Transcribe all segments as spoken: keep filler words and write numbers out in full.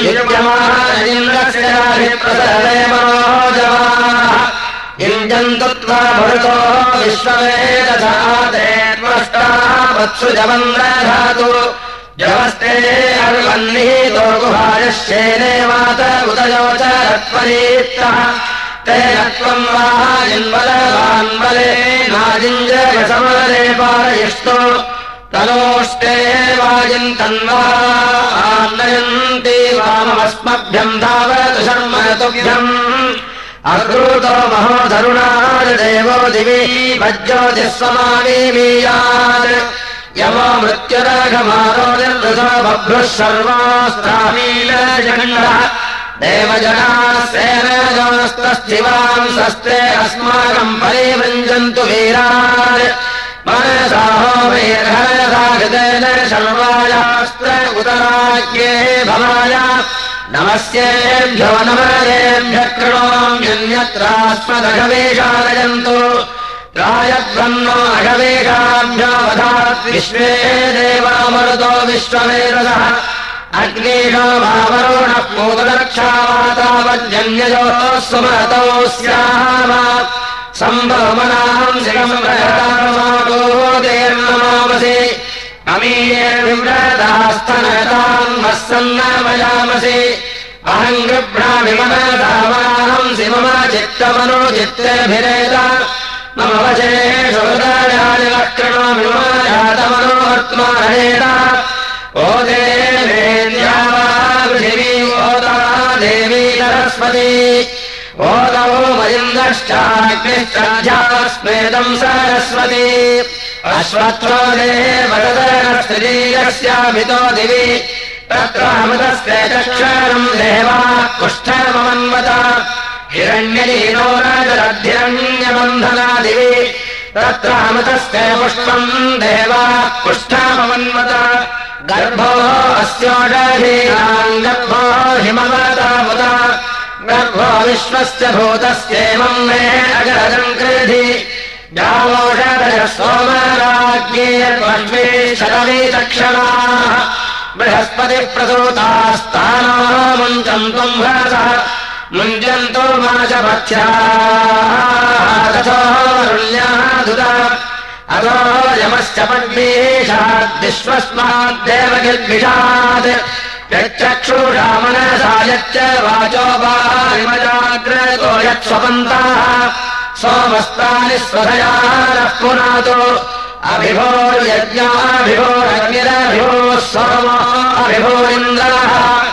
युज्यमानैन्द्रस्याभिप्रसरे मनोजवाः युञ्जन्तु त्वा भरुतो विश्ववेदधाते त्वष्टाः वत्सुजवन्द्रधातु जवस्ते अर्वन्निहितो गुहायश्चेने मात उदयो च रत्परीत्तः तेन त्वम् वाजिन्वलवान्वले नाजिञ्जयसमरे पारयिष्टो तनोष्टे वाजिन्तन्वान्नयन्ति वाममस्मभ्यम् धावतु शर्मतुभ्यम् अकृतो महोधरुणाय देवो दिवि वज्ज्योतिस्वमावीमीयात् यमो मृत्युराघमारो निर्वृतो बभ्रुः सर्वास्त्रामीलजगण्डः देवजनाः सेनजोस्तस्थिवांसस्ते अस्माकम् परिवृञ्जन्तु वीरान् मनसाहो वीर्हरसाघृतेन शर्वायास्त्र उतराज्ञे भवाय नमस्येभ्यो नमरेभ्यः कृणोम्यन्यत्रास्मदघवेशालयन्तु रायब्रह्मो अघवेशाभ्यो वधात् विश्वे देवामरुतो विश्वमेधसः अग्नेशो भावरुणः पूतदक्षावातावज्जन्यजोः सुमतौ स्याम सम्भवमनाहम् शिखमप्रहतामागोदेर्नमामसि अमीयेर्विव्रतास्तनतान् वस्सन्नमयामसि अहम् गृभ्रामिमनतामाहम् शिवम चित्तमनो चित्तेभिरेत मम वचेषु हृदयानि वक्रणोमि मम जातमनोवर्त्मारहेण ओ देवेन्द्या वा पृथिवी ओदा देवी सरस्वती ओदौ मयिन्दश्चाग्निश्चाध्यास्मेदम् सरस्वती अश्वत्थो देवदनस्त्रीयस्यामितो दिवि तत्रामृतस्य चक्षरम् देवा कुष्ठमन्वत हिरण्यलीनो राजरद्धिरण्यबन्धना दिवि तत्रामृतस्य पुष्पम् देवा कुष्ठमन्वत गर्भो अस्योषधीनाम् गर्भो हिमवतामुत गर्भो विश्वस्य भूतस्येवम् मे अगरजम् कृधि जावोषधयः सोमराज्ञेर्वश्वे शतवीचक्षणाः बृहस्पतिप्रसूतास्तानो मुञ्चम् त्वम् भरसः मुञ्जन्तो माचपथ्याः तथोरुण्याः धुता अतो यमश्च पद्मीषाद्विश्वस्माद्देवगिर्भिषात् यच्चक्षुषा मनसा यच्च वाचो वारिमजाग्रतो यत्स्वपन्ताः सोमस्तानि स्वधयानः पुनातो अभिभोर्यज्ञाभिभोरग्निरभिभोः सोमो अभिभोरिन्द्रः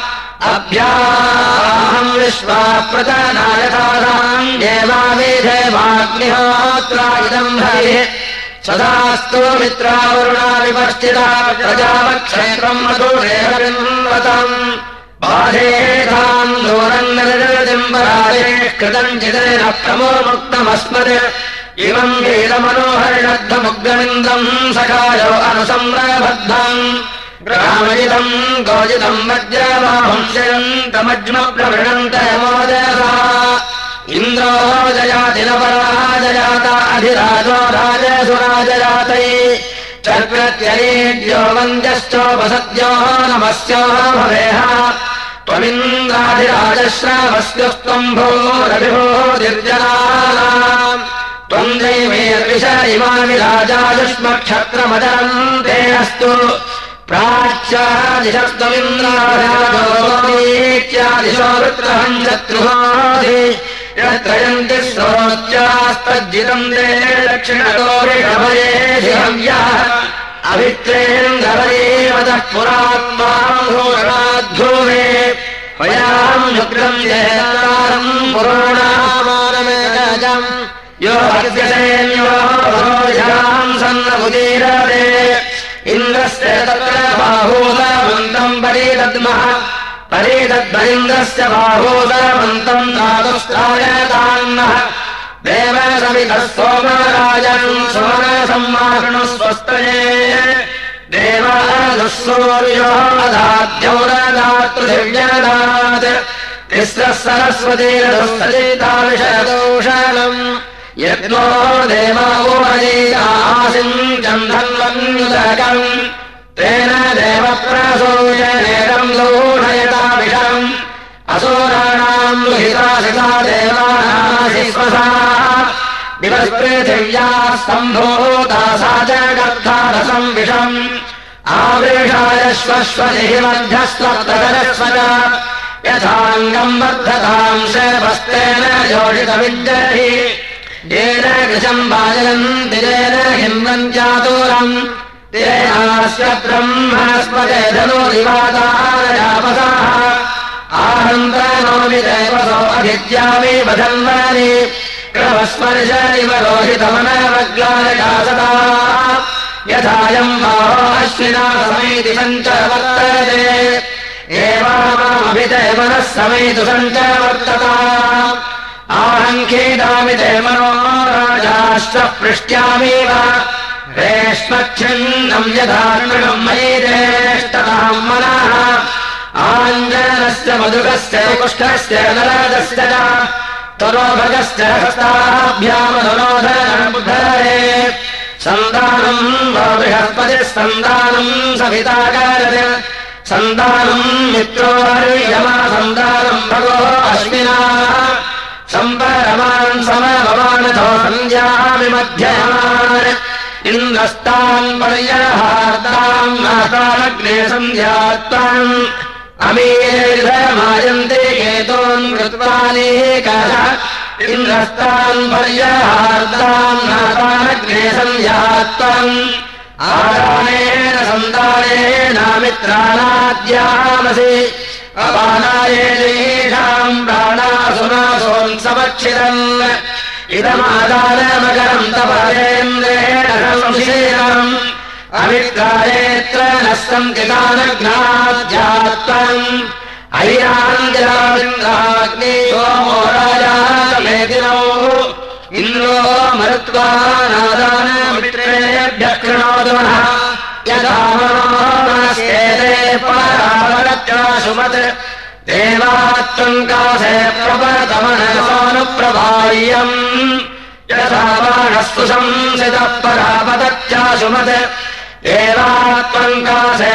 अभ्याहम् विश्वा प्रतनायथासाम् देवाविधेवाग्निहोत्रा इदम् हरिः सदास्तु मित्रावरुणा विवर्तिता प्रजावक्षेत्रम् मधुरेहरिन्वतम् बाधेधाम् दूरम् निर्जलदिम्बराजे कृतम् चिदेन प्रमो मुक्तमस्मत् इमम् वीरमनोहरिणद्धमुग्रमिन्दम् सखायो अनुसम्रबद्धम् ग्रामजितम् गोजितम् वज्रवांशयन्तमज्मप्रवृणन्त यमोदयसा इन्द्रो जयाति न पराजयात अधिराजो राजसुराजयातै चक्रत्यरीड्यो वन्द्यश्चोपसद्यो नमस्यो भवेह त्वमिन्द्राधिराजश्रावस्योस्त्वम् भूरभिभूतिर्जनानाम् त्वम् दैवेर्विष इमामि राजायुष्मक्षत्रमदरम् ते अस्तु प्राच्यादिशस्त्वमिन्द्राराजोतीत्यादिशो वृत्रहम् शत्रुहोधि यत्रयन्ति श्रोत्यास्तज्जितम् ते दक्षिणतो ऋषभयेऽधिहव्यः अभित्रेन्द्रवरेवतः पुरात्माधूरणाद्धूमे वयाम् शुक्रम् जयतारम् पुरोणामानमेकजम् यो भक्त्यसेन्यो भोजाम् सन्नमुदीरते इन्द्रस्य तत्र बाहूदमन्तम् परीदद्मः परीदद्मरिन्द्रस्य बाहूदमन्तम् धातुस्त्रायतान्नः देवसमितः सोमराजम् सोमसम्मारणस्वस्तये देवादुःसूर्यो अधाद्यौरदातृथिव्यदात् तिस्रः सरस्वतीरदुःसजिताविषदोषणम् यज्ञो देवा ओमजीतासिम् चन्दन्वन्युदकम् तेन देवप्रसूयनेदम् लोढयताविषम् सम्भूता सा च गर्धारसम् विषम् आवृषाय श्वश्वनिः मध्यस्त्वत्तरस्व च यथाङ्गम् वर्धताम् शवस्तेन योषितविद्यहि येन कृशम् वाजयन्ति येन हिम्नम् चातुरम् तेनास्य ब्रह्मणस्पते धनुरिवादारयापसाः आहन्तनोमि देवसो अभिद्यामि वधन्वानि क्रमस्पर्श इव रोहितमनवग्लायकासदा यथायम् बाहो अश्विना समेति सञ्च वर्तते एवामभिदेवनः समेतु सञ्च वर्तता आहङ्खेदामि ते मनो राजाश्च पृष्ट्यामेव रेष्मच्छिन्नम् यथार्णम् मयि रेष्टताम् मनः आञ्जनस्य मधुकस्य कुष्ठस्य नरदस्य च तरोभगस्य हस्ताभ्यामनुरोधनमुद्धरे सन्दानम् वा बृहस्पतिः सन्दानम् सविताकारते सन्दानम् मित्रो हर्यमा सन्दानम् भगो अश्विना सम्परमान् समभवानथो सञ्जामि मध्यमान् इन्द्रस्तान् पर्यहार्ताम् नातामग्ने सन्ध्यात्ताम् अमीर्धमायन्ते केतोन् कृत्वानेकः इन्द्रस्तान् पर्यहार्ताम् नातामग्ने सन्ध्यात्ताम् आदानेन सन्दानेन मित्राणाद्यामसि अपानायेषाम् प्राणासुनासोऽन्सवक्षितम् इदमादानमकरम् तपरेन्द्रेण संशीलम् अवित्रायेत्र नः सन्ति तानघ्नाध्यात्तम् ऐराञ्जलामिन्द्राग्नि सोमो राजातमेदिनौ इन्द्रो मरुत्वा नादानमित्रेभ्यः कृणोतु नः यथा मनस्येते परावरत्याशुमत् देवात्त्वम् कासे प्रपतमनसोऽनुप्रभायम् यथा बाणस्तु संसितः परापतच्चाशुमत् देवात्त्वम् कासे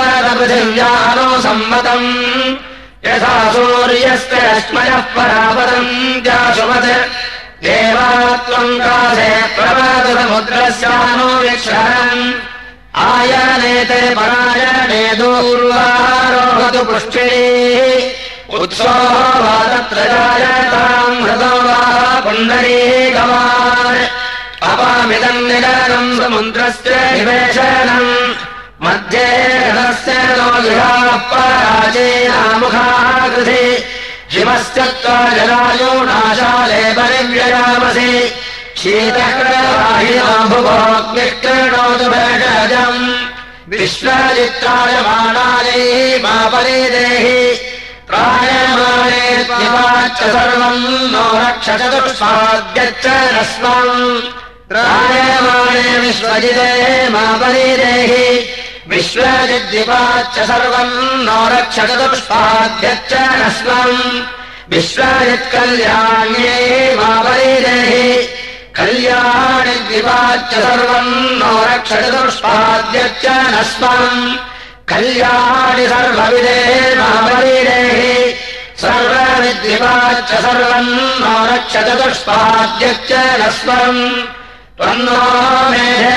प्रपतपृथिव्यानुसम्मतम् यथा सूर्यस्य रश्मयः परापतम् चाशुमत् देवात्त्वम् कासे प्रपतसमुद्रस्यानुवीक्षणम् आयनेते परायणे दूर्वारोहतु पुष्टिः उत्सोहो वा तत्र जायताम् हृदो वा पुण्डरीकवान् अपामिदम् निरनम् समुद्रस्य निवेशनम् मध्ये हृदस्य नो युधाः पराचीनामुखाः कृधि शिवस्य त्वा जलायोनाशाले परिव्ययामसि शीतकृवाहिनो भुवोऽग्निष्कृणोतु भेषजम् विश्वचित्रायमाणायै मा परिदेहि प्रायमाणे त्विवाच्च सर्वम् नो रक्ष चतुष्पाद्यच्च रस्वम् प्रायमाणे विश्वजिते मा परिदेहि विश्वजिद्विवाच्च सर्वम् नो रक्ष चतुष्पाद्यच्च रस्वम् विश्वजित्कल्याण्ये मा परिदेहि कल्याणि द्विवाच्च सर्वम् नो रक्ष चतुष्पाद्यच्च नस्वम् कल्याणि सर्वविदे मा परिदेहि सर्वविद्विवाच्च सर्वम् नो रक्ष चतुष्पाद्यच्च नस्वम् त्वन्नो मेधे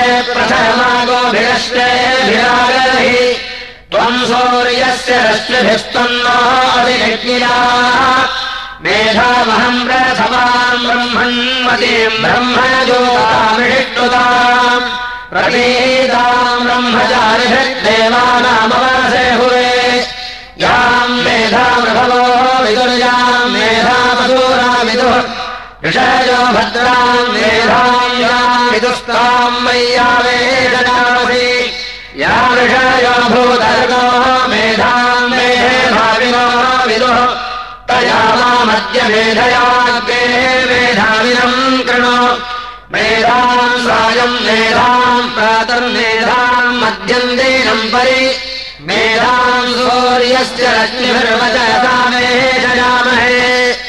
प्रथमागोभिरश्वेभिरागहि त्वम् सूर्यस्य रश्मिभिस्त्वन्नो अधिनिज्ञिना मेधामहम् प्रथमाम् ब्रह्मण्मतीम् ब्रह्मज्योतामिषिष्टुताम् प्रतीताम् ब्रह्मचारिभिर्देवानामवरसे हुवे याम् मेधामृभवो विदुर्याम् मेधामधूरा विदुः ऋषयो भद्राम् मेधाम् याम् विदुस्ताम् मय्यावेदनामसि या ऋषयो भूतर्गो मेधाम् मेधाविनो विदुः तया मामद्य मेधयाग्रे मेधाविनम् कृणो मेधाम् सायम् मेधाम् प्रातर्मेधाम् मध्यम् दीनम् परि मेधाम् सूर्यस्य रश्मिभिर्वचसा मेधयामहे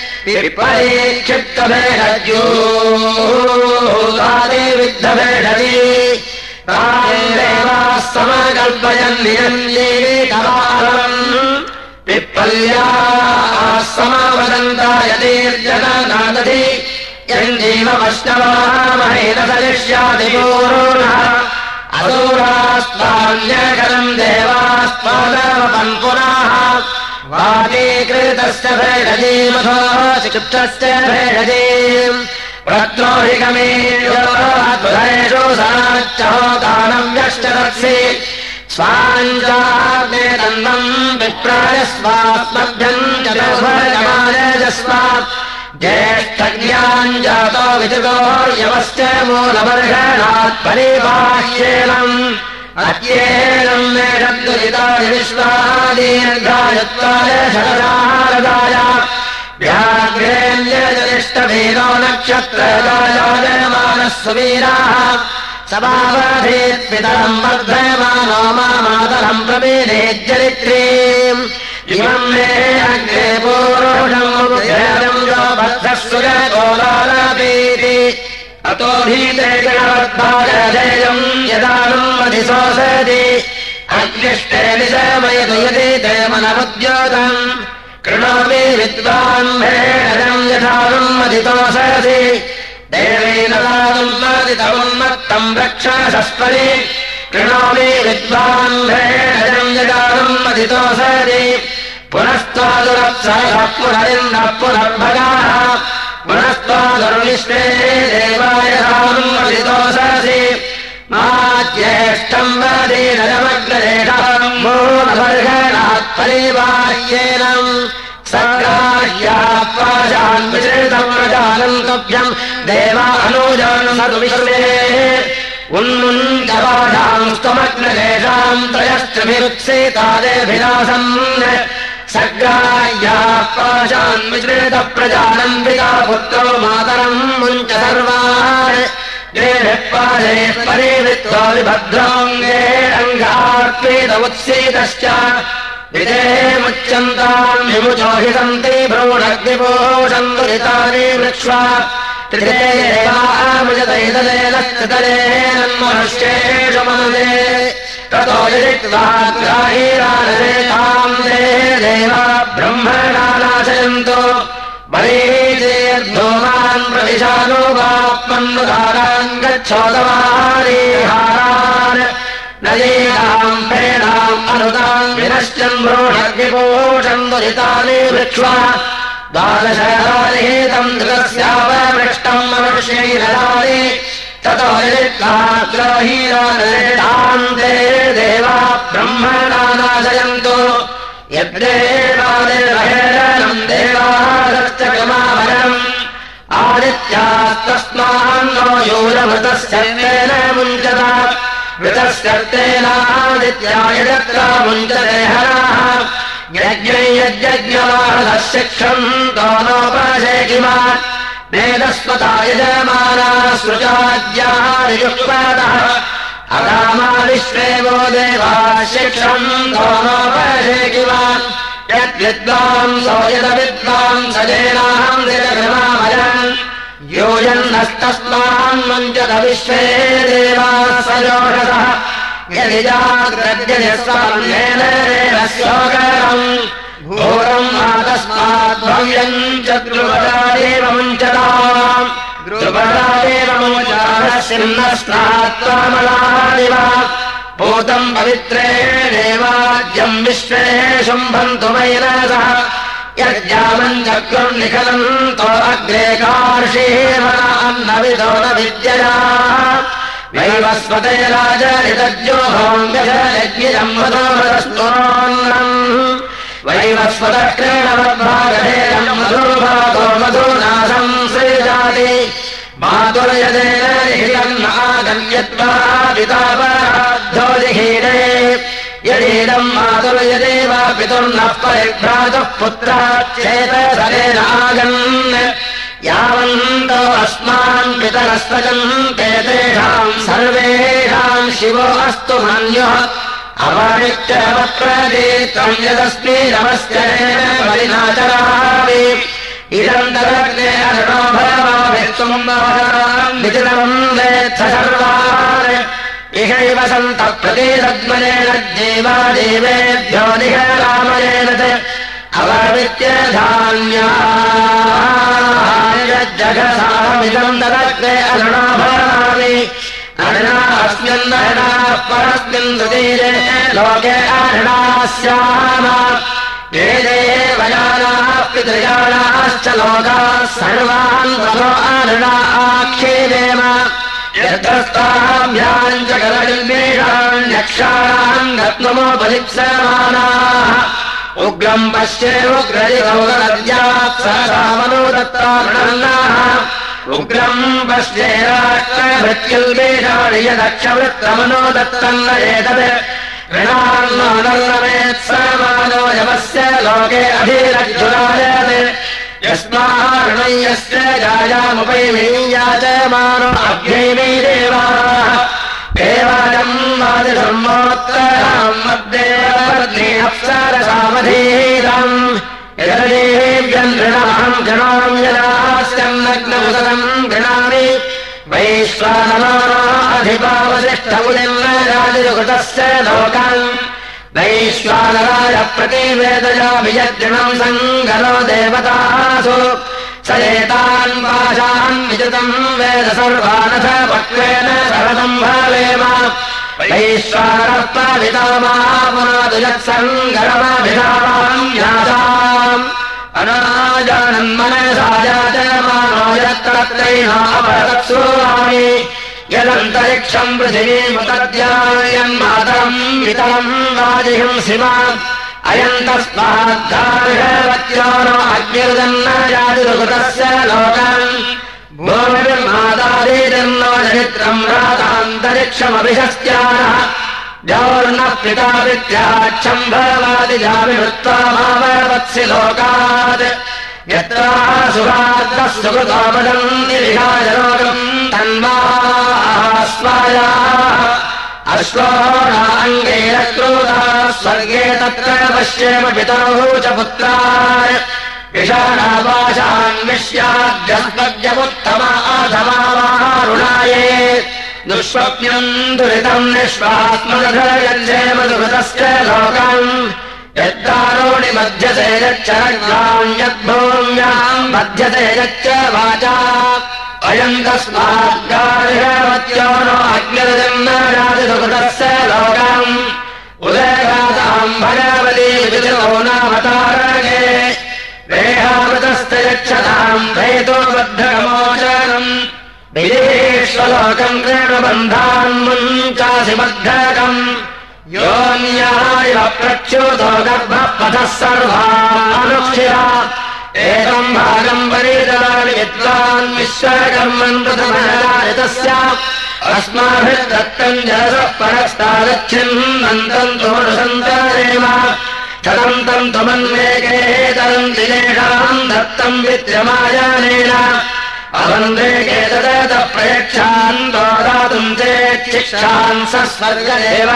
परीक्षिप्तभेदज्योतादिविद्धभेदति तादेवाः समकल्पयन् निरञ्जीवितवाहम् पिप्पल्याः समवदन्ता यतीर्जननादधि यञ्जीवमश्नवामहेन सलिष्यादिपूर्णः असूरास्त्वान्यकरम् देवास्त्वादवपन् पुनः वातीकृतस्य भेषजीमथो चिक्षस्य भेषजीम् प्रत्रोहिगमेषु साच्चहो दानव्यश्चरत्सि स्वाञ्जाग्ने तन्वम् विप्रायस्वात्मभ्यम् चतुर्भजमानजस्मात् ज्येष्ठज्ञाञ्जातो विचुगोर्यवश्च मूलवर्षणात् परिबाह्येनम् अत्येनम् मे शब्दुजितानि विश्वादीर्घायुत्वाय शरदारदाय व्याघ्रेऽन्यजनिष्ठभेदो नक्षत्रजायमानः सुवीराः समावधेत्पितरम् वर्धमानो मामातरम् प्रपेदेज्जरित्रीम् इमम् मे अग्रे पूर्वम् यो बद्धः सुरकोलालपीति अतो भीते गणवद्भागधेयम् यदानुम् अधिशोषति अग्निष्टे निशमयतु यदि ते मनमुद्योतम् कृणोमि विद्वान् भेषजम् यथानुम् अधितोषसि देवेन दानुन्मदितमुन्मत्तम् रक्षसस्परि कृणोमि विद्वान् भेषजम् यदानुम् अधितोषसि पुनस्त्वादुरप्सरः पुनरिन्दः पुनर्भगाः पुनस्त्वादुर्विश्वे देवाय दानुम् अधितोषसि मा ज्येष्ठम् वदीनजमग्नरेषम् मूलवर्षणात् परिबाह्येनम् सग्राह्याः पाशान् विचरितम् प्रजानम् तुभ्यम् देवानुजान् सतु विश्वे उन्मुञ्चपाशाम् स्तमग्नरेषाम् त्रयश्चभिरुत्सेतादेभिलासम् सग्राह्याः पाशान् विचरितः प्रजानम् पिता पुत्रो मातरम् मुञ्च सर्वान् पाशे परिवृत्तो विभद्रोऽङ्गे अङ्गार्पेत उत्सीतश्च विदेमुच्यन्ताम् विमुचो हि सन्ति भ्रूणग्निपोषम् दुरितानि वृक्ष्वा त्रिदेवामृजतैतलेनस्तलेनन्मनुष्येषु मनसे ततो यदित्वाग्राहीरानरेताम् ते देवा ब्रह्मणा नाशयन्तो बलीचेर्धूमान् प्रविशानुवात्मन्नुदारान् गच्छोदवारीहारान् नयेनाम् प्रेणाम् अनुताम् विनश्चन् भ्रूणग्निपोषम् दुरितानि वृक्ष्वा द्वादशरानिहितम् धृतस्यापमृष्टम् मनुष्यैरदानि ततो यदित्वाग्राहीरानरेताम् ते देवा ब्रह्मणा नाशयन्तो यद्देवादेवहेरणम् देवादश्च क्रमाभरम् आदित्यास्तस्मान्नो यूयमृतस्य तेन मुञ्चता मृतस्यर्तेनादित्याय यत्र मुञ्चते हराः यज्ञै यज्ञवाहदः शिक्षम् तो नोपशे किमात् वेदस्वता यजमानाः सृजाद्याहारियुक्तादः अगामा विश्वे वो देवाः शिक्षम् तो नोपशे किमात् यद्विद्वांसो यदविद्वांसजेनाहम् दिजगृहामयम् योजन्नस्तस्मान्मुञ्चत विश्वे देवाः सजोषसः यदि जाग्रद्यजस्वान्येन शोकरम् घोरम् आतस्मात् भव्यम् च द्रुपदादेव मुञ्चताम् द्रुपदादेव मुञ्चारः सिंहस्नात्वामलादिव भूतम् पवित्रेणेवाद्यम् विश्वे शुम्भन्तु मैनसः यज्ञामम् चक्रुर्निखलन्तो अग्रे कार्षीर्मनान्नविदो न विद्यया वैवस्वते राजरितज्योहोम् व्यजयज्ञिजम्मधोमधस्तुरोन्नम् वैवस्वतः क्रीडवद्भागधेयम् मधुर्भागो मधुनाशम् सृजाति मातुर्यदेन निहितन्नागम्यत्वा पितापराद्धोजिहीरे यदीदम् मातुर्यदेव पितुर्नः परिभ्रातुः पुत्राच्चेतसरेणागन् यावन्तो अस्मान् पितरस्वजन्ते तेषाम् सर्वेषाम् शिवो अस्तु मन्युः अवनित्यवप्रदीत्वम् यदस्मीरमस्य परिनाचरामि इदन्तरग्ने अरुणो भवाभित्वम् विदितम् वेत्थ सर्वान् इहैव सन्तः प्रतीरद्मनेन जीवादेवेभ्यो निहरामयेन च अवर्वित्य धान्याय यघसामिदम् ददग्ने अरुणाभरणानि अरुणा अस्मिन्नरुणाः परस्मिन् सुतीरे लोके अरुणास्याम ये देवयानाः पितृयानाश्च लोकाः सर्वान् ततो अरुणा आक्षेपेम यत्रस्ताभ्याम् च गलनिर्मेषाण्यक्षाणाम् गत्वमोपलिप्समानाः उग्रम् पश्ये उग्रजिगौगलद्यात् सहसामनोदत्तारुणन्नाः उग्रम् पश्ये राष्ट्रभृत्युल्मेषाणि यदक्षवृत्तमनोदत्तन्न एतत् ऋणान्नोदल्लमेत्समानो यमस्य लोके अभिरज्जुरायत् यस्मार्णय्यस्य जायामुपैमीयाचमानो अभ्यैमी देवाः देवायम् वादिधर्मोत्तराम् मद्देवपत्नी अप्सरसामधीरम् यददेव्यम् गृणाम् गृणाम् यदास्यम् नग्नमुदरम् गृणामि वैश्वानराधिपावसिष्ठमुनिर्नराजिरुकृतस्य लोकान् वैश्वानराय प्रतिवेदयामि यद्गृणम् सङ्गरो देवतासु स एतान् पाशान् विजतम् वेद सर्वानथ पक्वेन शरदम् भावेम वैश्वानरः पावितामापुनादु यत्सङ्गरमभिधावाम् यासाम् अनाजानन्मनसा याजमानो यत्तत्रैनापरत्सूरामि यदन्तरिक्षम् पृथिवीमुतद्यायन्मातरम् वितरम् वाजिहिंसिमा अयम् तस्माद्धार्हवत्यो नो अग्निर्दन्न जातिरुकृतस्य लोकान् भूमिर्मादादीर्नो चरित्रम् रातान्तरिक्षमभिषस्त्यानः जौर्नः पिता विद्याच्छम् भवादि जाविहृत्वा माववत्सि लोकात् यत्रा सुभाद्रः सुकृतोपदन्ति विहाय लोकम् तन्वास्वायाः अश्वोराङ्गैरक्रोधा स्वर्गे तत्र पश्येम पितरौ च पुत्रान् विषाणापाशान्विष्याद्यस्पद्यमुत्तमा अधमारुणाये दुष्स्वप्नम् दुरितम् निष्पात्मदधयञ्जेम दुरितस्य लोकान् यद्दारोणि मध्यते यच्चरग्राम् यद्भूम्याम् मध्यते यच्च वाचा अयम् तस्माद्गार्हवत्यो नो अग्निर्जन्न राजिसुकृतस्य लोकाम् उदयगाताम् भगवती विदुरो नामतारगे देहामृतस्य यच्छताम् भेतोबद्धकमोचनम् विदेश्वलोकम् क्रीडबन्धान्मुञ्चासि बद्धकम् योऽन्याय प्रच्युतो गर्भः पथः सर्वानुक्षिरा एकम् भागम् परिदलानि विद्वान् विश्वकर्मन् प्रथमजायतस्य अस्माभिर्दत्तम् जलसः परस्तादच्छिन्नन्तम् तोषन्तरेम छदन्तम् त्वमन्वेकेतरम् दिनेषाम् दत्तम् विद्यमायानेन अवन्वेके तदतः प्रयक्षान् दोदातुम् चेच्छिक्षान् स स्वर्गदेव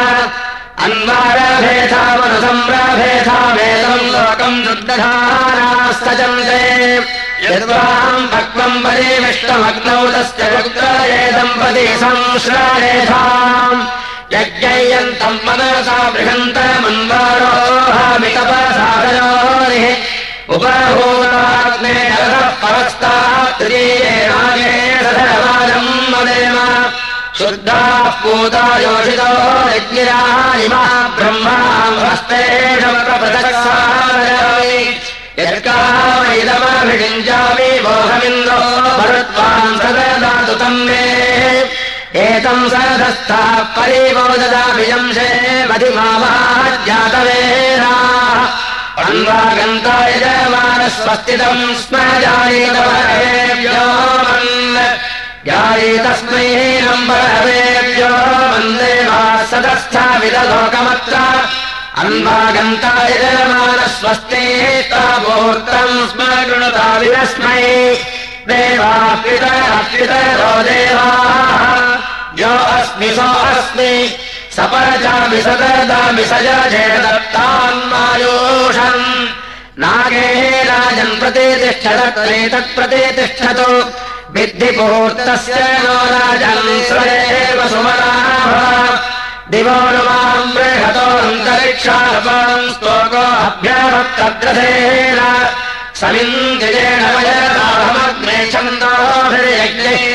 अन्वारभेथामनुसम्राभेथामेतम् लोकम् दुर्दधानास्तजन्ते यद्वाम् भक्वम् परिमिष्टमग्नौ तस्य पुत्रयेदम्पति संश्रायेथाम् यज्ञयन्तम् मनसा बृहन्तमन्वारोहामितपसादयोनिः उपभूताग्ने रथः परस्तात् त्रिये नागे रथवाजम् मदेम शुद्धाः पूता योषितो यज्ञिराः इमः ब्रह्मास्तेषप्रपृथक्सारयामि यत्कामैदमभिषिञ्चामि मोहमिन्द्रो भरत्वान् सददातु तम् मे एतम् सरधस्थाः परिवोददामि यंशे मधिमामाज्ञातवेराः अन्वागन्ता यजमानस्वस्तितम् स्म जायेतवरेभ्यो मन् जायेतस्मै नम्बरहेभ्यो मन्देवाः सदस्थाविदलोकमत्र अन्वागन्ता यजमानस्वस्ते तावोर्तम् स्म गृणुता विरस्मै देवाः पितरः पितरो देवाः यो अस्मि सो अस्मि सपरचामि सददामि सजचेदत्तान्मायोषम् नागे राजन् प्रतितिष्ठतत्रेतत्प्रतितिष्ठतु विद्धिपूर्तस्य नो राजन् स्वरेव सुमनाः दिवो नु माम् बृहतोऽन्तरिक्षार्पाम् स्तोको अभ्यवत्तद्रथेन समिन्द्रियेण वयदाहमग्ने छन्दो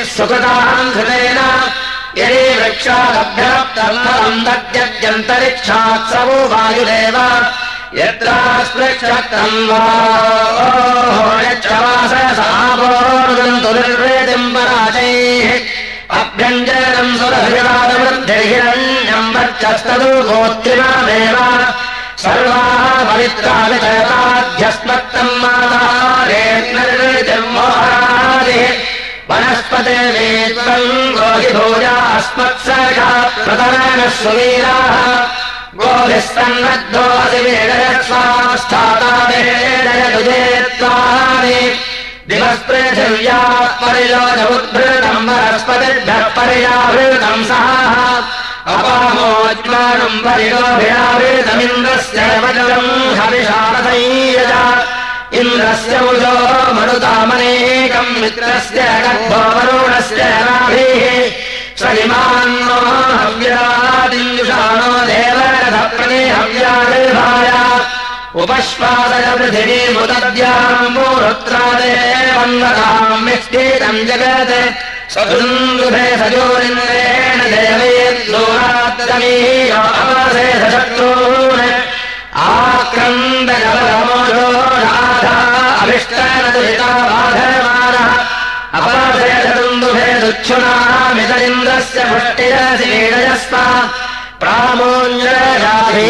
सुकृताम् धृतेन यदि वृक्षादभ्यप्तम् तद्यद्यन्तरिक्षात् सवो वायुदेव यत्रा स्पृक्षत्रम् वा यच्छवाससापोर्गन्तु निर्वेदिम् पराजैः अभ्यञ्जनम् सुरभिवादवृद्धिर्हिरण्यम् वर्चस्तदु गोत्रिमामेव सर्वाः पवित्रा वितयताध्यस्मत्तम् मातारेर्निर्वेदिम् मोहादिः वनस्पते वेत्वम् गोहि भूया अस्मत्सर्गा प्रतरणः सुवीराः गोभिस्तन्नद्धो अधिवेदयत्स्वास्थाता वेदयदुजेत्वानि दिवस्पृथिव्याः परिलोचमुद्भृतम् वनस्पतिभ्यः पर्यावृतम् सहाः अपामोज्मानम् परिलोभिरावृतमिन्द्रस्य वज्रम् हविषारथैयज इन्द्रस्य मुजो मनुतामनेकम् मित्रस्य गर्भो वरुणस्य नाभिः श्रीमान्नो हव्यादिञ्जुषाणो देवरथप्रति हव्यादिर्भाय उपश्वादय पृथिवीमुदद्याम् मूरुत्रादेवन्वताम् मिष्टीतम् जगत् सदुन्दुभे सजोरिन्द्रेण देवयेद्दूरात्तमीय अपसे सशत्रून् आक्रन्दजलमोजो राधा अभिष्टनदुहिता बाधमानः अपासे सदुन्दुभे दुच्छुनामितरिन्द्रस्य पुष्टिरसि वीडयस्व प्रामोञ्जराभि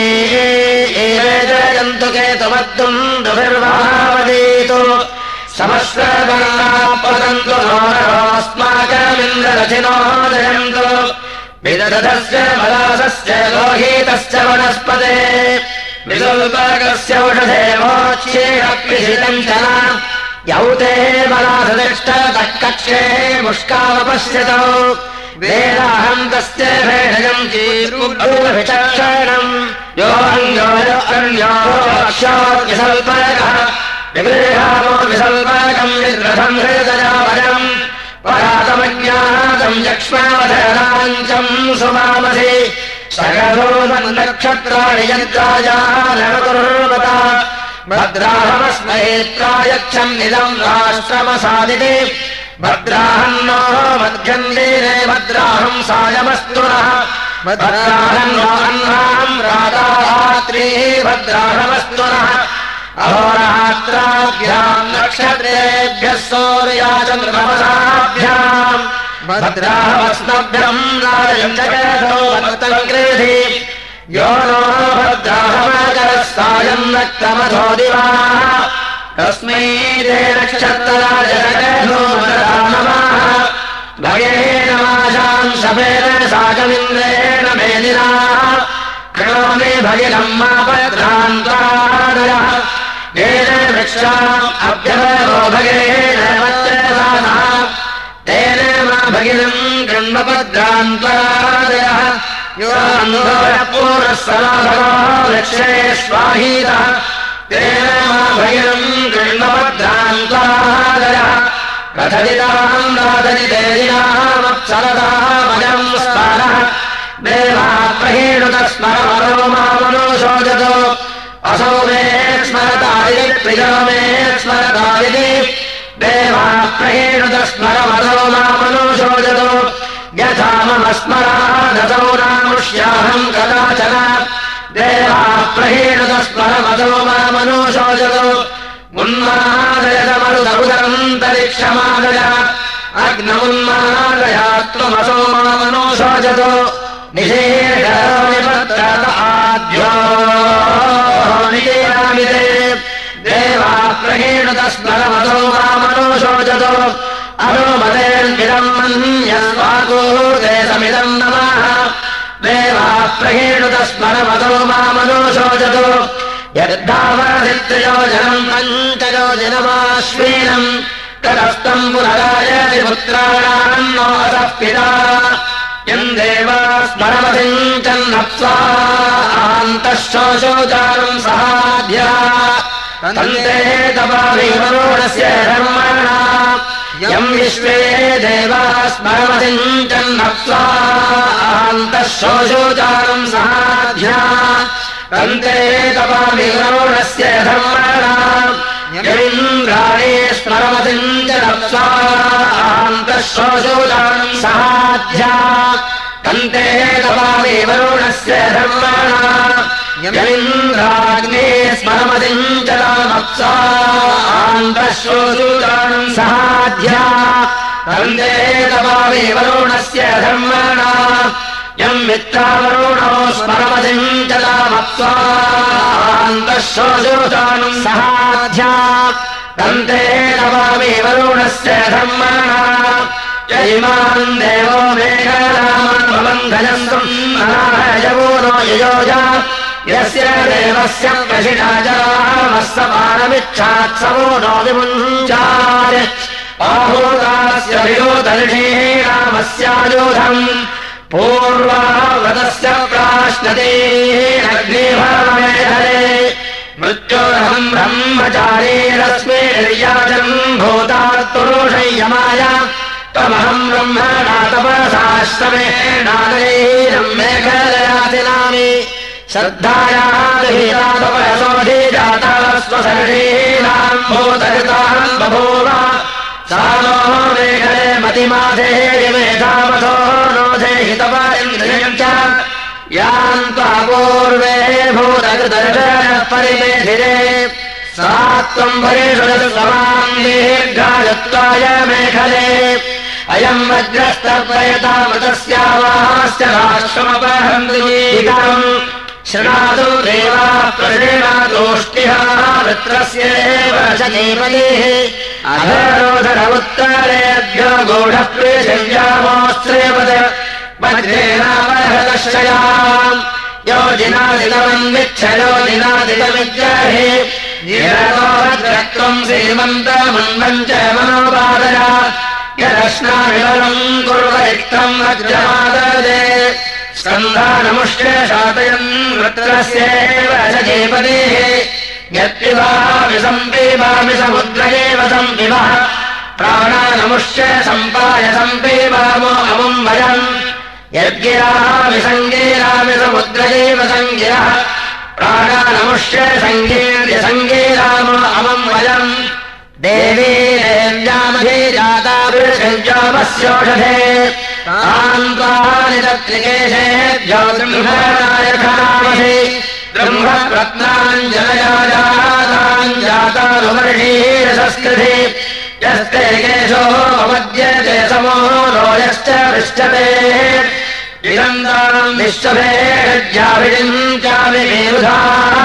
जयन्तु केतुमद्दुन्दुभिर्वावदीतु समश्रवर्णापतन्तु नोरस्माकमिन्द्ररथिनो जयन्तु विदधस्य मलासस्य लोहितस्य वनस्पते विदुल्पकस्य औषधे मोच्येरप्यसितम् च यौते मलासतिष्ठतः कक्षे मुष्कावपश्यतौ वेदाहम् तस्य भेषजम् चीरुविचक्षणम् योऽन्यो विसल्पकः विगृहामो विसल्पकम् विद्रथम् हृदयावरम् परातमज्ञातम् यक्ष्मावधराञ्चम् सुमामसि सगधो नक्षत्राणि यन्त्राजानवकुर्वता भद्राहमस्मैत्रायच्छम् इदम् राष्ट्रमसादिति भद्राहन्नो मध्यन्देने भद्राहम् सायमस्तु नः भद्राहन्नो अह्नाम् रातात्रीः भद्राहमस्तु नः अहोरात्राभ्याम् नक्षत्रेभ्यः सौर्याचन्द्रमसाभ्याम् भद्राहमस्मभ्यम् राजयञ्जगतो भक्तम् कृधि यो नो भद्राहमकरः सायम् नक्तमथो दिवाः तस्मै ते नक्षत्रराज जगतो नमः भगेन माशाम् शपेन साकमिन्द्रेण मेदिना कृणोमि भगिनम् मा भद्रान्तादयः येन वृक्षाम् अभ्यवरो भगेन वज्रसानः तेन मा भगिनम् गृह्णभद्रान्तादयः यो पूर्वः सनाभगो वृक्षे स्वाहीतः तेन मा भगिनम् गृह्णभद्रान्तादयः कथदिताम् राधनिदेदिनामप्सरतामजम् स्मरः देवा प्रहेणुतस्मरमरो मामनुशोचतो असौ मे स्मरतायि प्रियो मे स्मरतायिति देवा प्रहेणुतस्मरमरो मामनुशोचतो यथा मम स्मरादसौ नामुष्याहम् कदाचन देवा प्रहेणुतस्मरमरो मामनुशोचतो उन्मादयतमरुदरुदरन्तरिक्षमादय अग्नमुन्मादयात्वमसो मामनुशोचतो निषेधनिपत्रत आद्यो निषेधामिते देवा प्रहेणुतस्मरमसो मामनुशोचतो अनुमतेर्विदम् मन्यस्वाकूते समिदम् नमः देवा प्रहेणुतस्मरमसो मामनुशोचतो यद्धावनधित्रयोजनम् पञ्चयोजनमाश्वीनम् तदस्तम् पुनरायति पुत्राणाम् नोऽसः पिता यम् देवा स्मरमसिञ्चन्नप्स्वान्तः शोचोचारम् सहाभ्या तन्ते तपाभिवरोणस्य धर्मणा यम् विश्वे देवा स्मरमसिञ्चन्नप्स्वान्तः शोचोचारम् सहाभ्या तन्ते तपाभिवरोणस्य धर्मणा यमिन्द्राणे स्मरमसिञ्चन्नप्स्वा आन्तःश्रोषोजानम् सहाध्या कन्ते दवामि वरुणस्य धर्मणा यमिन्द्राग्ने स्मरमतिम् जलामप्सा आन्तःश्रोषोजानम् सहाध्या कन्ते दवामि वरुणस्य धर्मणा यम् मित्रावरुणो स्मरमतिम् जलामप्सा आन्तःश्रोषोजानम् सहाध्या कन्ते दवामि वरुणस्य धर्मणा यजिमान् देवो मेघरामान् भवन्धयन्तुम् अनाहयवो नो ययोजा यस्य देवस्य प्रशिणा जलामस्तपानमिच्छात्सवो नो विमुञ्चात् आहूतास्य विरोधर्षीणामस्यायोधम् पूर्वाव्रतस्य प्राश्नते अग्निभावमेधरे मृत्योरहम् ब्रह्मचारीरस्मे निर्याजम् भूतात्पुरुषय्यमाय त्वमहम् ब्रह्मणा तपसाश्रमेणानैरम् मेघदयातिनामि श्रद्धायादिहीरातपयसोऽधिजाता स्वसर्षीणाम् भूतकृताम् बभूव सा नो मेघले मतिमाधे विमेधावधो नोधे हितपा इन्द्रियम् च याम् त्वा पूर्वे भूतकृतर्षयः परिमेधिरे सा त्वम् परिषदतु समाम् दीर्घायुत्वाय मेखले अयम् वज्रस्तर्पयतामृतस्यावास्य राष्ट्रमपहन्तीकम् शृणातु देवाः प्रसीणातोष्टिः वृत्रस्येव शनीपतिः अधरोधर उत्तरेभ्यो गूढः पृथिव्यामोऽस्त्रेपद वज्रेणावहृतश्रयाम् योजिनादितमन्विच्छ योजिनादितमिज्जहि निरतोभद्रत्वम् श्रीमन्तमन्वम् च मनोपादय यदश्नाविवरम् कुर्वरिक्तम् वज्रमाददे स्कन्धानमुष्य शातयन् वृत्रस्येव शचीपतिः यत्पिबामि सम्पीबामि समुद्रयेव सम्पिबः प्राणानमुष्य सम्पाय सम्पीबामो अमुम् वयम् यद्गिरामि सङ्गीरामि समुद्रयेव सङ्गिरः प्राणानमुष्य सङ्गीर्य सङ्गीरामो अमुम् वयम् देवी देव्यामधिजाता पृथिव्यामस्योषधे तान्त्वानि तत्रिकेशेभ्यो ब्रह्मणायखामसि ब्रह्मप्रत्नाञ्जलयाजाताञ्जातानुवर्षीरसस्कृति यस्ते केशो मद्यते समो नो यश्च पृष्ठते विरन्दाम् विश्वभेज्याभिषिञ्चामि मेरुधा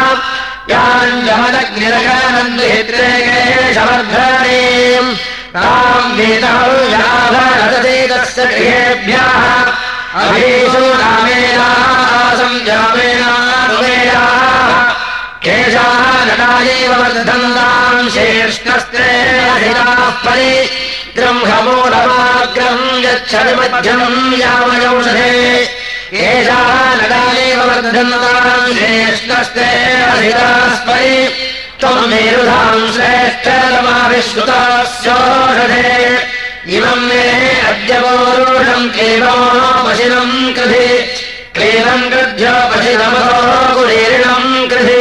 याञ्जमदग्निरगानन्दहित्रे केशवर्धनीम् ताम् वीतहव्याभरदते तस्य गृहेभ्यः अभीषु नामेनासम् जामेनानुमेयाः केशाः नटायैव वर्धन्ताम् शेष्णस्ते अधिराः परि द्रंहमूलमाग्रम् यच्छविमध्यम् यामयौषधे केशाः नटायैव वर्धन्ताम् शेष्णस्ते अधिराः परि त्वम् मेरुधाम् श्रेष्ठतमाविश्रुतास्योषधे इमम् मे अद्य पौरुषम् क्लीबमोपशिनम् कृधि क्लीबम् कृध्योपशिनमो कुलीर्णम् कृधि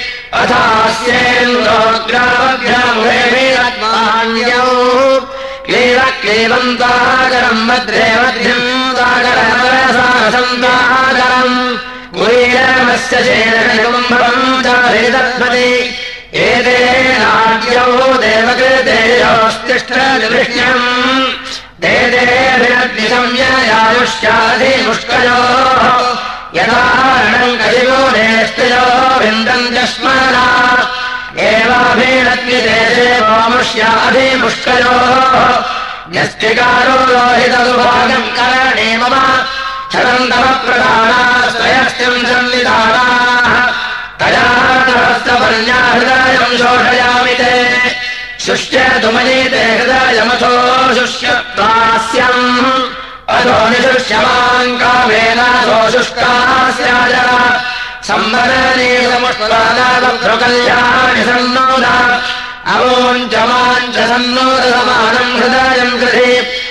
अथास्येन्द्रोग्रामभ्यामुहेभिरत्मान्यौ क्लीब क्लीबम् ताकरम् भद्रे भद्रिम् ताकरमरसारसम् ताकरम् कुलीरमस्य शेषकुम्भम् चाभिदत्मति एते नाट्यौ देवकृतेयोस्तिष्ठनिवृष्ण्यम् देदेभिरग्निसंययायुष्याधिमुष्कयोः यथारणम् कलिमूलेष्टयो विन्दन्त्यश्मना एवाभिरग्निदेशे वामुष्याधिमुष्कयोः न्यस्तिकारो लोहितदुभागम् करणे मम छदन्तमप्रदानास्त्रयस्तिम् संविधानाः तया हृदयम् शोषयामि ते शुष्यतुमनीते हृदयमथो शुष्यत्वास्यम् अथो निशुष्यमान् कामेनाथो शुष्कास्याज संवरणीयमुष्टादाभ्रुकल्याणि सन्नोद अवोञ्चमाञ्च सन्नोदसमानम् हृदयम् कृधि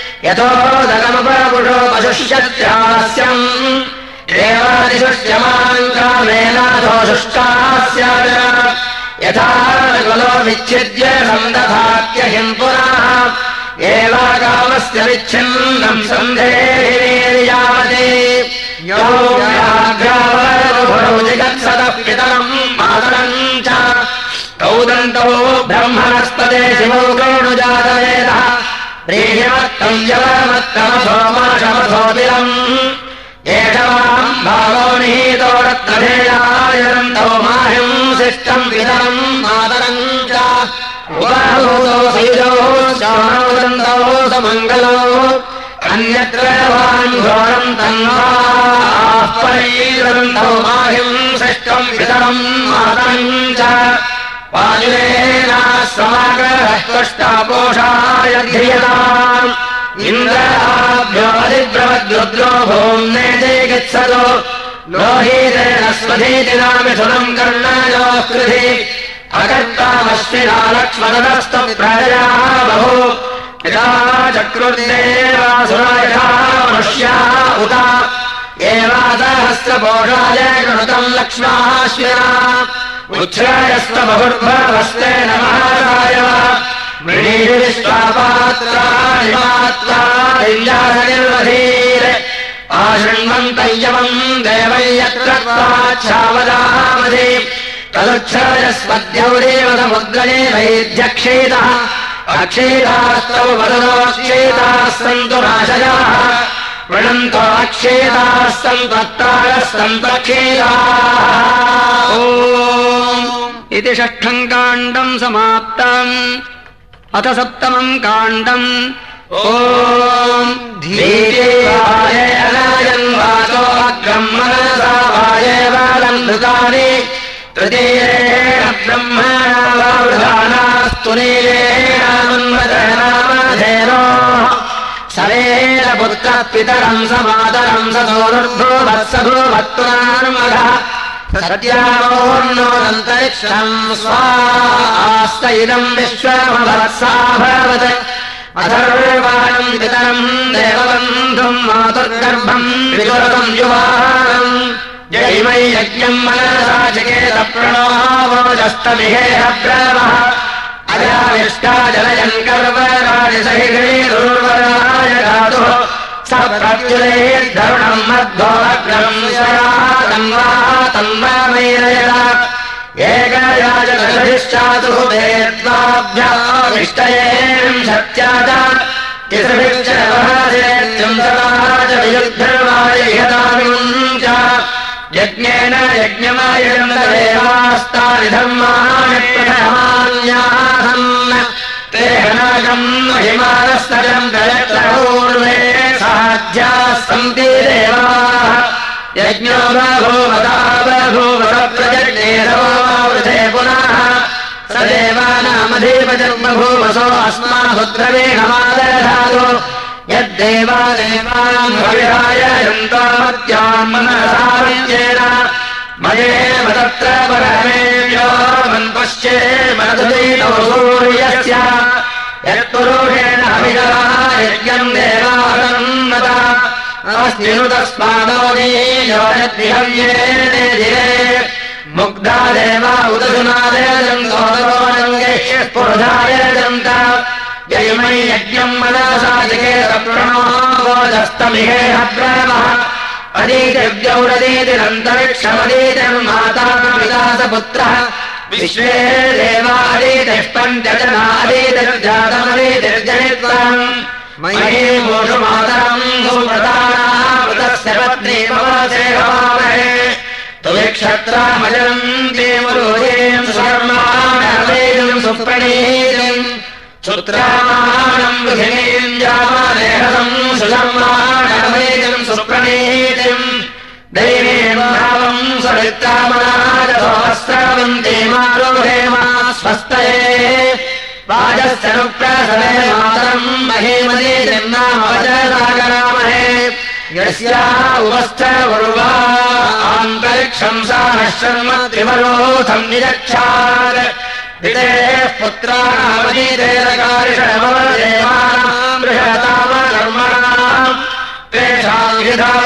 यथोदकमुपपुषोपशुष्यत्यास्यम् देवादिशुष्यमान् कामेनाथो शुष्कास्याज यथा कुलो विच्छिद्य सन्दधात्यहिम् पुनः एवाकामस्य विच्छिन्नम् सन्धेर्यावते यो व्याघ्रावरो जिगत्सदः पितरम् मातरम् च कौदन्तौ ब्रह्मणस्पदे शिवौ गौणुजातवेदः प्रीयमत्तम् यवमत्तमसो माशमसोऽपिलम् एषवाम् भावो निहीतो रत्नधेयायरन्तौ माहिम् शिष्टम् पितरम् मातरम् च उपहूतो सयुजौ श्रवणोदन्तौ समङ्गलौ अन्यत्र वान् घोरम् तन्वाः परीरन्तौ माहिम् शिष्टम् पितरम् मातरम् च वायुरेणाश्रमागरः ध्रियताम् इन्द्राभ्यो अधिब्रवद्रुद्रो भूम्ने जयगच्छतो लोहीतेन स्वधीति नामिथुनम् कर्णायोः कृधि अकर्तामश्विना लक्ष्मणस्तु प्रजया बहु यथा चक्रुर्देवासुरायथा मनुष्या उत एवादहस्रपोषाय कृतम् लक्ष्माश्विना उच्छ्रायस्व बहुर्भवस्ते नमः मृणीविश्वापात्राणि मात्वा दिव्यासनिर्वधीर आशृण्वन्तय्यवम् देवै यत्र त्वाच्छावदामधि तदुच्छ्रायस्वद्यौरेव समुद्रणे वैध्यक्षेतः अक्षेतास्तौ वदनोक्षेताः सन्तु नाशयाः वृणन्तो अक्षेताः सन्तु अत्तारः सन्तु अक्षेताः। इति षष्ठम् काण्डम् समाप्तम्। अथ सप्तमम् काण्डम् ओम् धीरेवाय अनायन्वाचो अग्रम् मनसा वायेवालम् धृतानि तृतीयेण ब्रह्मणा वावृधानास्तु नीलेनामन्वदनामधेनोः सरेण पुत्रः पितरम् समातरम् स सोऽनुर्भूवत्सभूवत्पुरान्मघः सत्यामोन्नोदन्तरिक्षम् स्वास्त इदम् विश्वमभवत्साभवत् अथर्वाणम् पितरम् देवबन्धुम् मातुर्गर्भम् विदुरतम् युवानम् जयिमै यज्ञम् मनसा चिकेत प्रणोवोजस्तमिहेह ब्रवः अजाविष्टा जलयन् कर्वराणि सहिषीरुर्वराय धातुः स प्रत्युलेर्धरुणम् मध्वोऽग्रम् तन्वा तन्वामैरयत एकयाजगधिश्चातुः वेद्वाभ्यामिष्टयेम् शक्त्या च तिसृभिश्च वहसेत्यम् सदा च वियुद्धर्वायहतामिमुम् च यज्ञेन यज्ञमायजम् देवास्तानि धर्माणि प्रथमान्यासन् ते हनागम् महिमानस्तजम् दयत्रपूर्वे साध्याः सन्ति देवाः यज्ञो बभूवता बभूवत प्रजज्ञेरवृथे पुनः स देवानामधीपजन्मभूवसो अस्माहुद्रवीणमादधातु यद्देवा देवान् हविराय यन्तामत्यान् मनसाविद्येन मयेव तत्र परमेभ्यो मन्पश्ये मनसुदीतो सूर्यस्य यत्पुरुषेण हविरः यज्ञम् देवानन्नत अस्ति नु तस्मादोदीयो यद्विहव्येने धिरे मुग्धा देवा उदधुनादेजन्तोदरोरङ्गे स्फुर्धायजन्त ययिमै यज्ञम् मनसा जिकेत प्रणोवोजस्तमिहेह ब्रवः अदीतिव्यौरदीतिरन्तरिक्षमदीतिर्माता विलासपुत्रः विश्वे देवादीतिष्पञ्चजनादीतिर्जातमदीतिर्जनित्वम् मयि मूषु मातरम् सुव्रतानामृतस्य पत्नी भवसे हवामहे तुविक्षत्रामजनम् देवरोजेम् सुधर्माणवेदम् सुप्रणीतिम् सुत्रामाणम् पृथिवीम् जामानेहसम् सुधर्माणवेदम् सुप्रणीतिम् दैवीम् भावम् सरित्रामनाजसोऽस्रावन्ते मारोहेमा स्वस्तये वाजस्य नुप्रसवे मातरम् महीमदीतिर्नामवचसागरामहे यस्या उपस्थवरुवा आन्तरिक्षम् सा नः शर्म त्रिवरोथम् निरक्षात् विदेः पुत्राणामनीतेरकारिषमवदेवानाम् बृहतामकर्मणाम् तेषाम्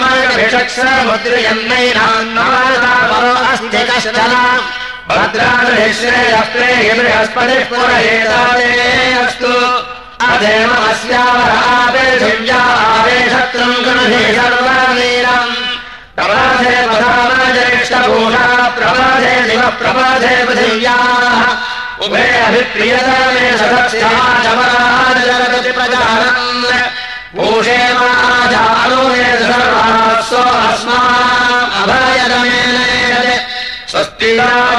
विधामभिषक्समुद्रियन्नैनान्नमतापरो अस्ति कश्चन भद्राश्रेयः प्रेहि बृहस्पतिः पुरहेतादे अस्तु अधेमस्यावरापृथिव्यावे शत्रुम् गृहे सर्ववीरम् प्रबाधे पधामज्येष्ठभूषा प्रबाधे दिवः प्रबाधे पृथिव्याः उभे अभिप्रियतमे सदस्याचमराजगति प्रजानन् भूषे माजानुमे सर्वाः सो अस्माम् अभयदमेन स्वस्ति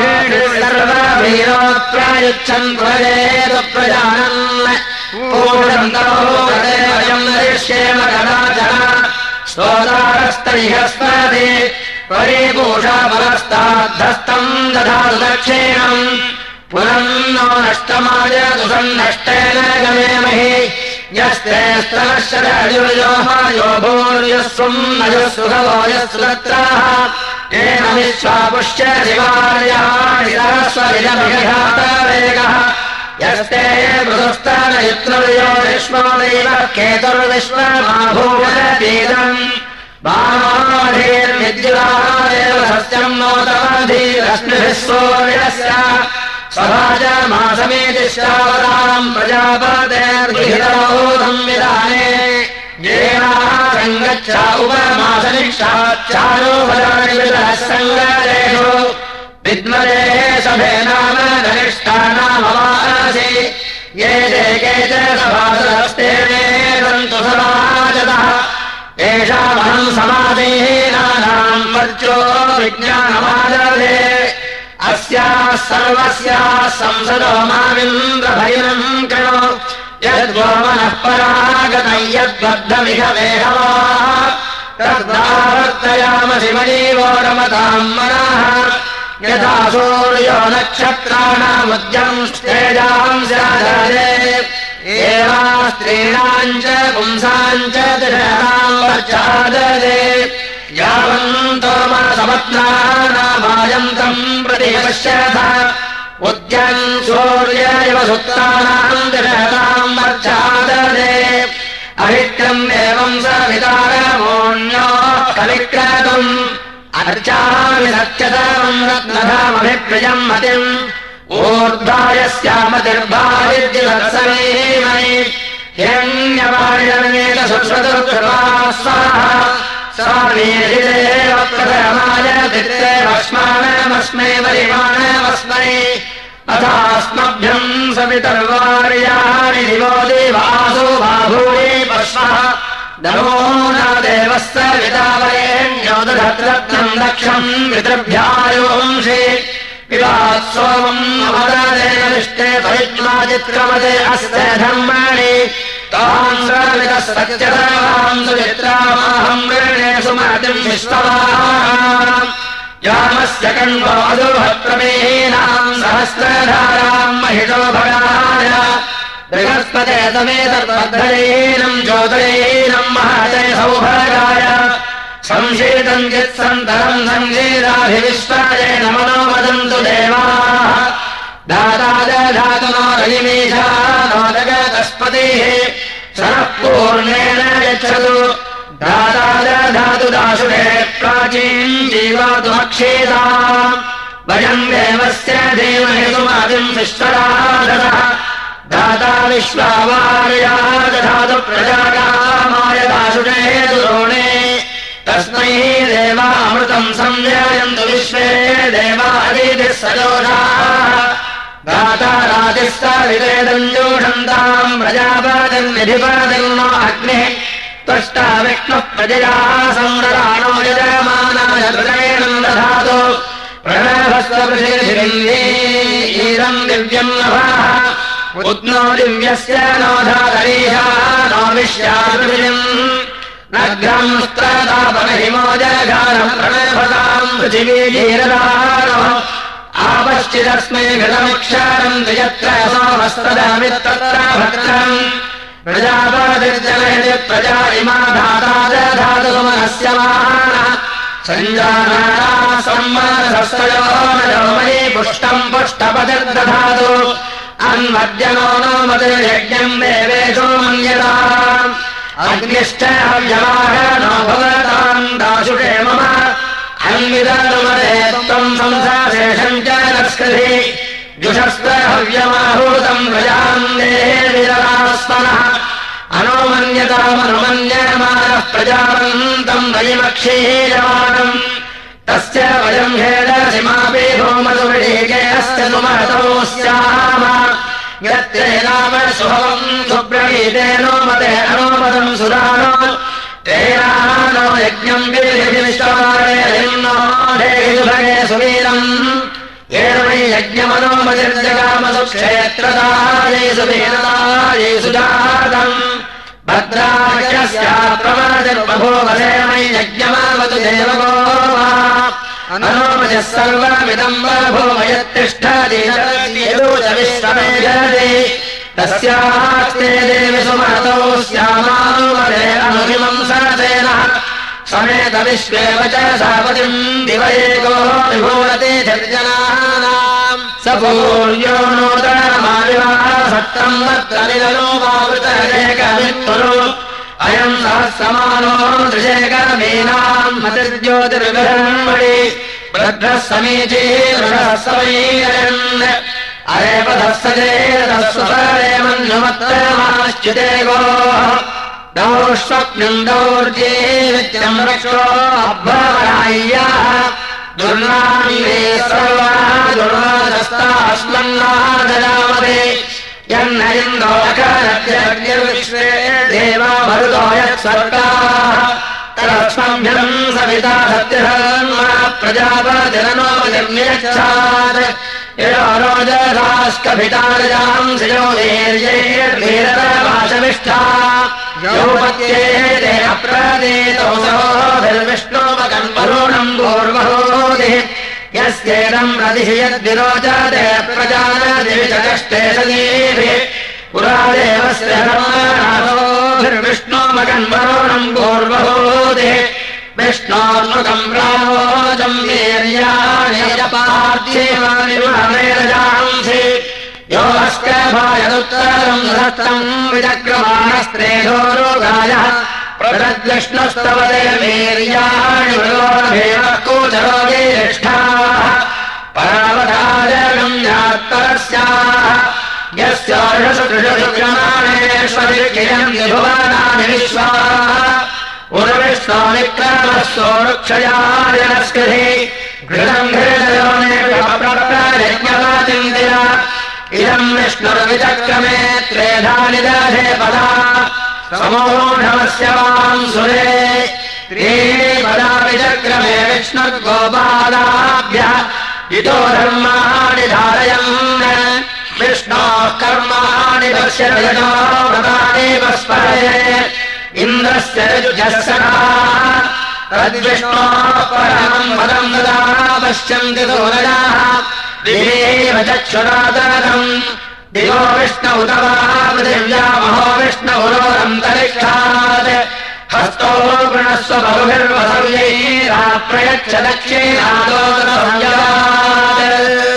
सर्ववीरोत्प्रयुच्छन् प्रजेतु प्रजानन् पूषन्तमोदयम् नरिष्येम कदाचन स्तोतारस्तैहस्पति परिपूषा परस्ताद्धस्तम् दधातु दक्षिणम् पुनन्नो नष्टमाय दुसन्नष्टेन गमेमहि यस्ते स्तनश्चरजुर्योहायो भूर्यस्वम् नजुःसुखवो यस्सुदत्राः येन विश्वापुष्य शिवार्याणि सरस्वरिजमिघातवेगः यस्ते मृदुस्तनयुत्रुर्यो विश्वदैवः केतुर्विश्वमाभूवतीदम् बामाधीर्विद्युदादेव सस्यम् नोतमधीरश्मिभिः सूर्यस्य स्वराजमासमेतिश्चावताम् प्रजापतेर्विहितमोधम् विधाने येनासङ्गच्छ उपमासनिक्षाच्चारोपदानि विदः सङ्गरेषु विद्मदेः सभे नाम धनिष्ठानामवासि ये ते के च सभासदस्ते सन्तु समाजतः येषामहम् समाधीनानाम् वर्चो विज्ञानमादधे अस्याः सर्वस्याः संसदो मामिन्द्रभैरम् कृणो यद्गोमनः परागतम् यद्बद्धमिह वेहवाः तद्वावर्तयामसि मयीवो रमताम् मनः यथा सूर्यो नक्षत्राणामुद्यम् स्तेजाम् स्यादरे एवा स्त्रीणाम् च पुंसाम् च तिषाम् वर्चादरे यावन्तो मनसपत्नानामायन्तम् प्रति पश्यथ उद्यन् सूर्य इव सुप्तानाम् तिषाम् वर्चादरे अभिक्रम् एवम् सवितारमोऽन्यो कविक्रतुम् अर्चामि सत्यतमम् रत्नधामभिप्रियम् मतिम् ऊर्ध्वायस्यामतिर्भाविद्युवत्समीमयि हिरण्यवाणिरमेत सुश्रुतुर्कृपाः स्वाहा स्वामीदेव प्रथमाय दित्ते भस्मानमस्मै वरिमाणमस्मै अथास्मभ्यम् सवितर्वार्याणि दिवो देवासो बाभूये पश्वः नमो न देवः सवितावरेण्यो दधत्रत्नम् दक्षम् पितृभ्यायोंषि पिबात् सोमम् अमददेन विष्टे परिज्ञाचित्रमते अस्ते धर्माणि ताम् सवितः सत्यधर्माम् सुचित्रामाहम् वृणे सुमतिम् विश्ववाहाम् यामस्य कण्वो अदुभत्रमेहीनाम् सहस्रधाराम् महिषो भगाय बृहस्पते तमेतद्बद्धरीनम् ज्योतिरीनम् महते सौभगाय संशीतम् चित्सन्तरम् संशीराभिविश्वाय नमनो वदन्तु देवाः दाता दधातु नो रयिमीशा नो जगतस्पतिः सरः पूर्णेन यच्छतु दाता दधातु दाशुरे प्राचीन् जीवातुमक्षेताम् वयम् देवस्य धीमहि सुमतिम् विश्वराधतः दाता विश्वावार्या दधातु प्रजाकामाय दाशुरे दुरोणे तस्मै देवामृतम् संजयन्तु विश्वे देवादितिः सजोषाः दाता रातिः सविवेदञ्जोषन्ताम् प्रजापतिर्निधिपतिर्नो अग्निः त्वष्टा विष्णुः प्रजया संरराणो यजमानाय हृदयेनम् दधातु प्रणभस्वपृथिवीरम् दिव्यम् नभः उद्नो दिव्यस्य नो धातरीशा नो विश्यापृथिवीम् नग्रम् स्त्रदापनहिमो जगानम् प्रणभताम् पृथिवीजीरदानो आपश्चिदस्मै घृतमिक्षारम् द्वियत्र सोमस्तदामित्तत्र भद्रम् प्रजापतिर्जनयति प्रजा इमा धाता दधातु सुमनस्य मानः सञ्जानाना सम्मानसस्तयो नजो मयि पुष्टम् पुष्टपतिर्दधातु अन्मद्यनो नो मतिर्यज्ञम् देवेषु मन्यताम् अग्निश्च हव्यवाहनो भवताम् दाशुषे मम अन्विदनुमते त्वम् संसाशेषम् च नस्कृधि जुषस्त्र हव्यमाहूतम् प्रजाम् देविररास्मनः अनोमन्यतामनुमन्यमानः प्रजावन्तम् वयमक्षीयमाणम् तस्य वयम् हेडसिमापि भूमसुवृढीके अस्य सुमहतो स्याम यत्ते नाम शुभवम् सुब्रवीतेनो मते अनोमतम् सुरानो तेनानो यज्ञम् विधिविश्वमारेणो ढेयुभगे सुवीरम् येन वै यज्ञमनोमतिर्जगामसु क्षेत्रदायै सुवीरदायै सुजातम् भद्राख्यस्या प्रमादिर्बभूवसे मयि यज्ञमावतु देवगो अनोमतिः सर्वमिदम् बभूव यत्तिष्ठति च विश्वमेजति तस्यास्ते देवि सुमहतो स्यामानुमते अनुमिमम् सतेन समेत विश्वेव च सापतिम् दिवयेको विभूरति निर्जनानाम् स पूर्यो नूतनमाविवाह सत्तम् वर्तनिलो वावृतरेकमित्तुरु अयम् सहस्रमानो दृशेकमीनाम् मतिर्ज्योतिर्विहर्मणि वृद्धः समीची वृषः सवैरयन् अरेपधः सजेतस्वरे मन्युमत्तमाश्च्युते गोः दौष्वप्नम् दौर्जीवित्यम् रक्षो अभ्रमणाय्याः दुर्नामीरे सर्वा दुर्वादस्तास्मन्नादजामते यन्न इन्दोऽखरत्यग्निर्विश्वे देवा मरुतो यत्सर्गाः तदस्मभ्यम् सविता सत्यधर्मा प्रजापतिरनोपतिर्नियच्छात् ययो रोजसास्कभितारजाम् श्रियो वीर्यैर्वीरतरवाचमिष्ठा योपत्येते अप्रदीतो सहोभिर्विष्णोपकम् वरुणम् पूर्वहोतिः यस्येदम् रदिः यद्विरोचते प्रजानदिवि च कष्टे सदीभिः पुरा देवस्य धर्मनाथोभिर्विष्णोपकम् वरुणम् पूर्वहोतिः विष्णोर्मुखम् रामोजम् वीर्याणि पार्थिवानि महामेरजांसि यो अस्कभायदुत्तरम् धत्तम् विचक्रमाणस्त्रेधोरोगायः प्रदद्विष्णुस्तवते वीर्याणि मृगोरभेवः कूचरोगेष्ठाः परावधाजगम् यात्तरस्याः यस्यार्षसुकृशुक्रमाणेष्वरिकिरम् विभुवनानि विश्वाः उर्विष्णोनिक्रमः सोरुक्षयायनस्कृति घृतम् घृतयोनिप्रप्रयज्ञवाचिन्तिना इदम् विष्णुर्विचक्रमे त्रेधानि दधे पदा समूढमस्य वाम् सुरे त्रीणि पदा विचक्रमे विष्णुर्गोपादाभ्यः इतो धर्माणि धारयन् विष्णोः कर्माणि पश्यतो व्रतानि वस्परे इन्द्रस्य रजुजस्सखाः तद्विष्णोः परमम् पदम् ददा पश्यन्ति सूरजाः दिवेव चक्षुरादरम् दिवो विष्णौ तवा पृथिव्या महो विष्णुरोरन्तरिक्षात् हस्तो गृणस्व बहुभिर्वसव्यैराप्रयच्छ दक्षिणादोदरसंयमात्